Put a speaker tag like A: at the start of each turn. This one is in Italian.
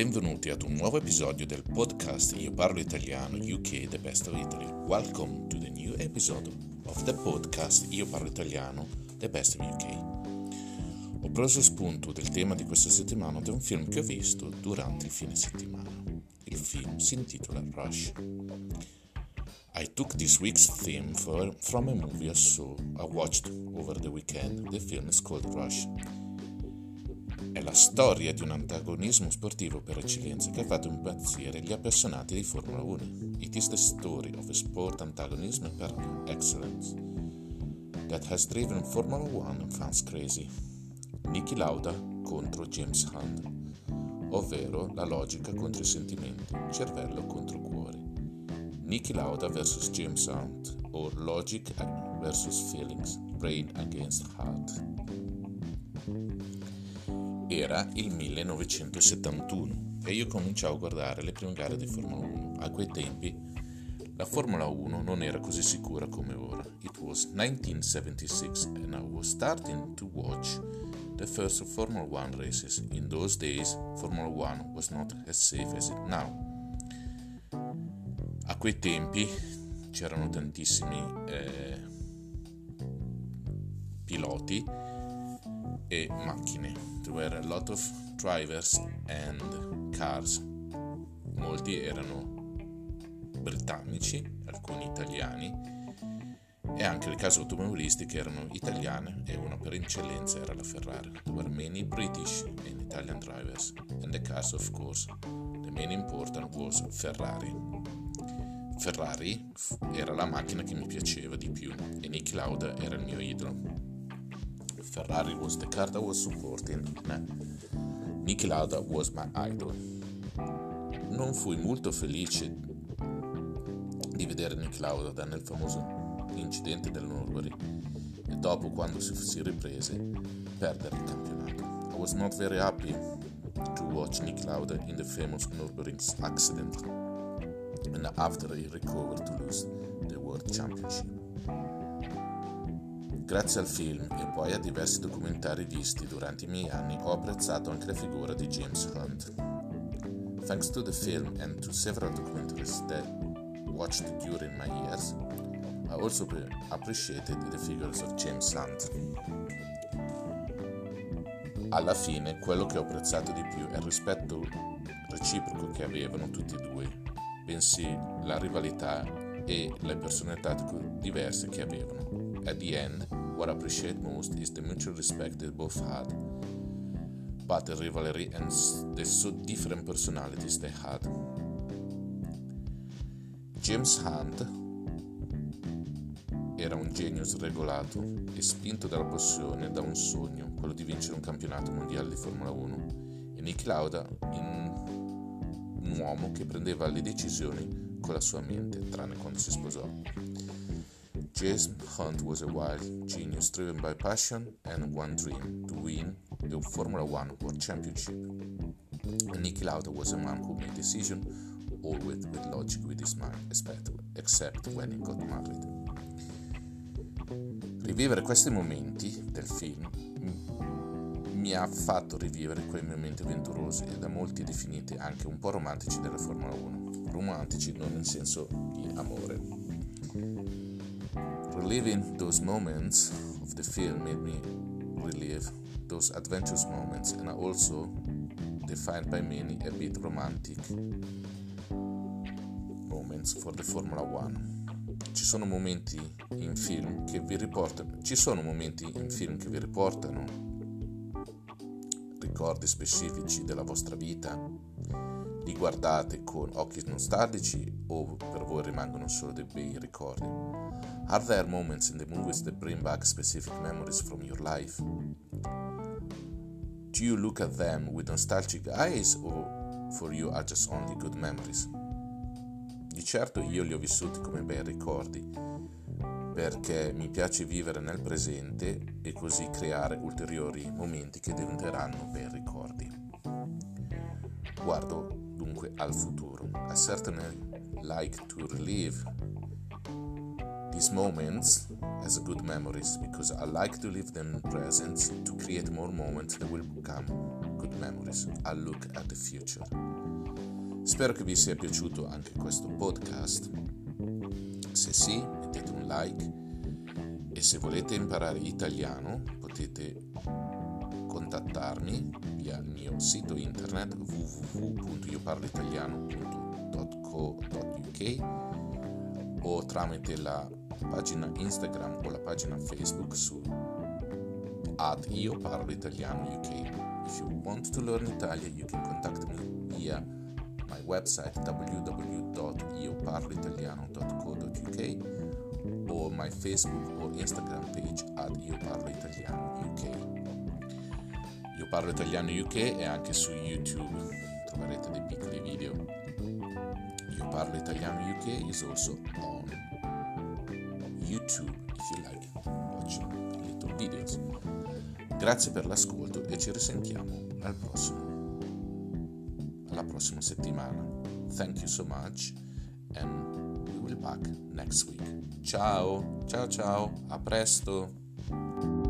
A: Benvenuti ad un nuovo episodio del podcast Io parlo italiano UK The Best of Italy. Welcome to the new episode of the podcast Io parlo italiano The Best of UK. Ho preso spunto del tema di questa settimana da un film che ho visto durante il fine settimana. Il film si intitola Rush. I took this week's theme from a movie I watched over the weekend. The film is called Rush. È la storia di un antagonismo sportivo per eccellenza che ha fatto impazzire gli appassionati di Formula 1. It is the story of a sport antagonism per excellence that has driven Formula 1 fans crazy. Niki Lauda contro James Hunt, ovvero la logica contro i sentimenti, cervello contro cuore. Niki Lauda vs James Hunt, or logic vs feelings, brain against heart. Era il 1971 e io cominciavo a guardare le prime gare di Formula 1. A quei tempi la Formula 1 non era così sicura come ora. It was 1976 and I was starting to watch the first Formula 1 races. In those days, Formula 1 was not as safe as it now. A quei tempi c'erano tantissimi piloti e macchine. There were a lot of drivers and cars. Molti erano britannici, alcuni italiani e anche le case automobilistiche erano italiane e una per eccellenza era la Ferrari. There were many British and Italian drivers and the cars, of course. The main important was Ferrari. Ferrari era la macchina che mi piaceva di più e Niki Lauda era il mio idolo. Ferrari was the car that was supporting Niki Lauda was my idol. Non fui molto felice di vedere Niki Lauda nel famoso incidente del Nürburgring e dopo, quando si riprese, perdere il campionato. I was not very happy to watch Niki Lauda in the famous Nürburgring accident and after he recovered to lose the World Championship. Grazie al film e poi a diversi documentari visti durante i miei anni ho apprezzato anche la figura di James Hunt. Thanks to the film and to several documentaries that watched during my years, I also appreciated the figures of James Hunt. Alla fine, quello che ho apprezzato di più è il rispetto reciproco che avevano tutti e due, bensì la rivalità e le personalità diverse che avevano. At the end, what I appreciate most is the mutual respect they both had, but the rivalry and the so different personalities they had. James Hunt era un genio sregolato e spinto dalla passione, da un sogno, quello di vincere un campionato mondiale di Formula 1, e Niki Lauda un uomo che prendeva le decisioni con la sua mente, tranne quando si sposò. James Hunt was a wild genius driven by passion and one dream, to win the Formula 1 World Championship. And Niki Lauda was a man who made decisions always with logic with his mind, except when he got married. Rivivere questi momenti del film mi ha fatto rivivere quei momenti avventurosi e da molti definiti anche un po' romantici della Formula 1. Romantici non in senso di amore. Reliving those moments of the film made me relive those adventurous moments, and are also defined by many a bit romantic moments for the Formula 1. Ci sono momenti in film che vi riportano ricordi specifici della vostra vita. Li guardate con occhi nostalgici o per voi rimangono solo dei bei ricordi? Are there moments in the movies that bring back specific memories from your life? Do you look at them with nostalgic eyes or for you are just only good memories? Di certo io li ho vissuti come bei ricordi, perché mi piace vivere nel presente e così creare ulteriori momenti che diventeranno bei ricordi. Guardo dunque al futuro. I certainly like to relive these moments as good memories, because I like to live them present to create more moments that will become good memories. I look at the future. Spero che vi sia piaciuto anche questo podcast. Se sì, mettete un like, e se volete imparare italiano potete contattarmi via il mio sito internet www.ioparloitaliano.co.uk o tramite la pagina Instagram o la pagina Facebook su @ioparloitaliano.uk. If you want to learn Italian, you can contact me via my website www.ioparloitaliano.co.uk or my Facebook or Instagram page @ioparloitaliano.uk. Io Parlo Italiano UK e anche su YouTube troverete dei piccoli video. Io Parlo Italiano UK is also on YouTube if you like watching little videos. Grazie per l'ascolto e ci risentiamo alla prossima settimana. Thank you so much and we will be back next week. Ciao, a presto!